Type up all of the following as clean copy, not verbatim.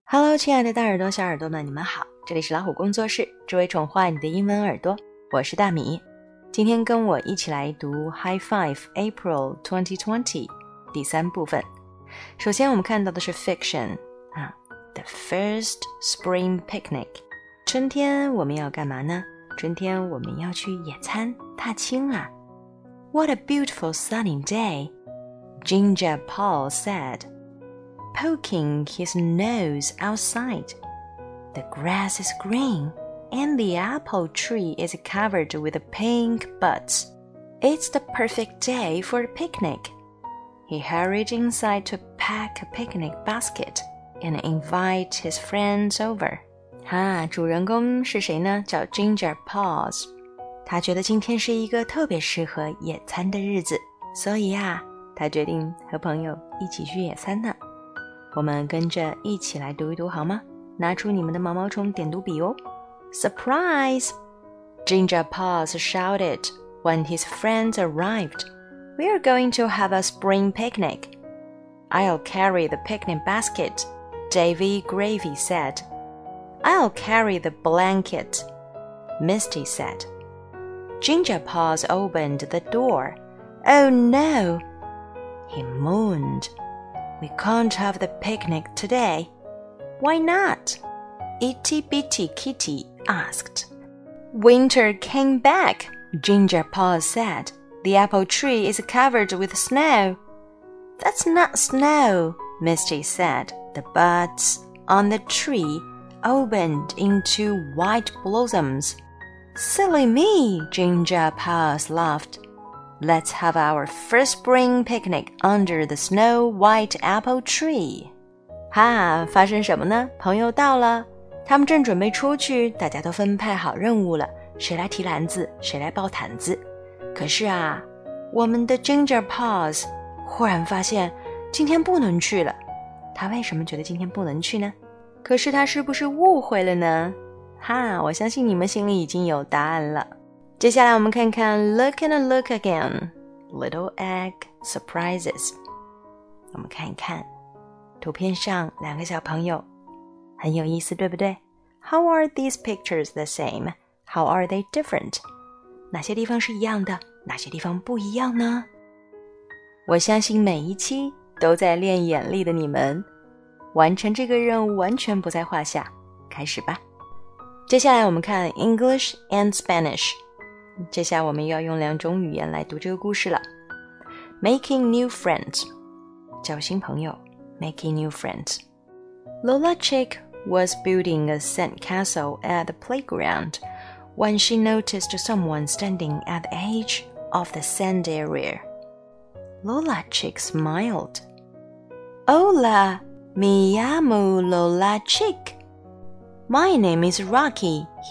Hello， 亲爱的大耳朵、小耳朵们，你们好！这里是老虎工作室，只为宠坏你的英文耳朵，我是大米。今天跟我一起来读 High Five April 2020第3部分。首先我们看到的是 fiction The first spring picnic。春天我们要干嘛呢？春天我们要去野餐、踏青啊。What a beautiful sunny day, Ginger Paul said.Poking his nose outside. The grass is green, and the apple tree is covered with pink buds. It's the perfect day for a picnic. He hurried inside to pack a picnic basket and invite his friends over. 主人公是谁呢？叫 Ginger Paws。他觉得今天是一个特别适合野餐的日子，所以他决定和朋友一起去野餐呢。我们跟着一起来读一读好吗？拿出你们的毛毛虫点读笔哦。Surprise! Ginger Paws shouted when his friends arrived. We are going to have a spring picnic. I'll carry the picnic basket, Davy Gravy said. I'll carry the blanket, Misty said. Ginger Paws opened the door. Oh no! He moaned.We can't have the picnic today. Why not? Itty Bitty Kitty asked. Winter came back, Ginger Paws said. The apple tree is covered with snow. That's not snow, Misty said. The buds on the tree opened into white blossoms. Silly me, Ginger Paws laughed.Let's have our first spring picnic under the snow-white apple tree. 发生什么呢？朋友到了，他们正准备出去，大家都分派好任务了，谁来提篮子，谁来抱毯子。可是我们的 Ginger Paws 忽然发现今天不能去了。他为什么觉得今天不能去呢？可是他是不是误会了呢？我相信你们心里已经有答案了。接下来我们看看 Look and Look Again Little Egg Surprises。 我们看一看图片上2个小朋友，很有意思，对不对？ How are these pictures the same? How are they different? 哪些地方是一样的，哪些地方不一样呢？我相信每一期都在练眼力的你们，完成这个任务完全不在话下。开始吧。接下来我们看 English and Spanish。接下来我们要用2种语言来读这个故事了。 Making new friends 交新朋友 Making new friends. Lola Chick was building a sandcastle at the playground when she noticed someone standing at the edge of the sand area. Lola Chick smiled. Hola, me llamo Lola Chick. My name is Rocky, he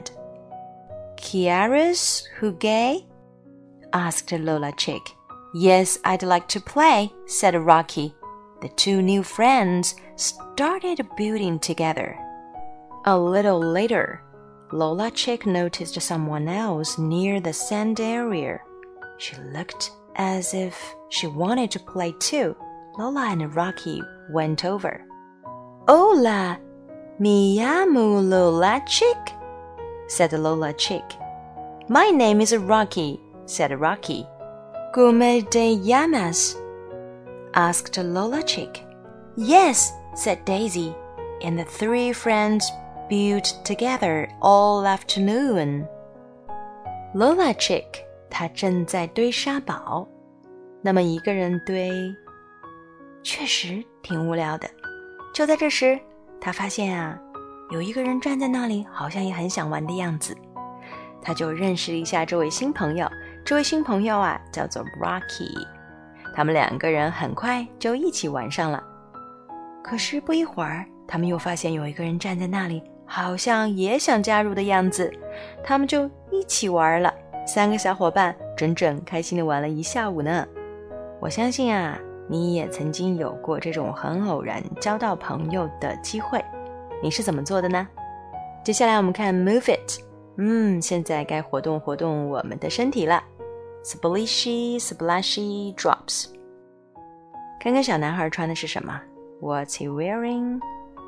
said.¿Quieres jugar? asked Lola Chick. Yes, I'd like to play, said Rocky. The 2 new friends started building together. A little later, Lola Chick noticed someone else near the sand area. She looked as if she wanted to play too. Lola and Rocky went over. Hola, me llamo Lola Chick, said Lola Chick.My name is Rocky, said Rocky. ¿Cómo te llamas? asked Lola Chick. Yes, said Daisy, and the 3 friends built together all afternoon. Lola Chick 她正在堆沙堡，那么一个人堆，确实挺无聊的。就在这时，她发现有一个人站在那里，好像也很想玩的样子。他就认识一下这位新朋友，这位新朋友叫做 Rocky。 他们2个人很快就一起玩上了。可是不一会儿，他们又发现有一个人站在那里，好像也想加入的样子，他们就一起玩了。3个小伙伴整整开心地玩了1下午呢。我相信你也曾经有过这种很偶然交到朋友的机会，你是怎么做的呢？接下来我们看 Move It。现在该活动活动我们的身体了。 Splishy, splashy drops。 看看小男孩穿的是什么。 What's he wearing?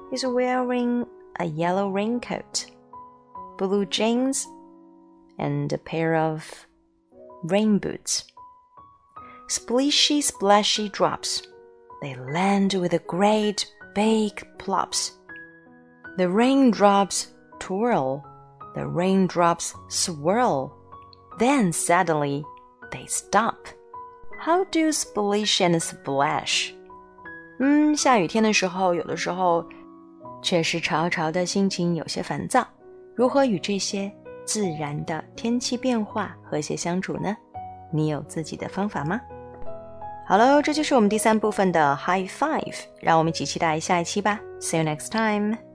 is wearing a yellow raincoat, blue jeans, and a pair of rain boots. Splishy, splashy drops. They land with a great big plops. The raindrops twirl. The raindrops swirl. Then suddenly, they stop. How do splish and splash? 下雨天的时候，有的时候确实潮潮的，心情有些烦躁。如何与这些自然的天气变化和谐相处呢？你有自己的方法吗？好了，这就是我们第3部分的 High Five， 让我们一起期待下一期吧。See you next time!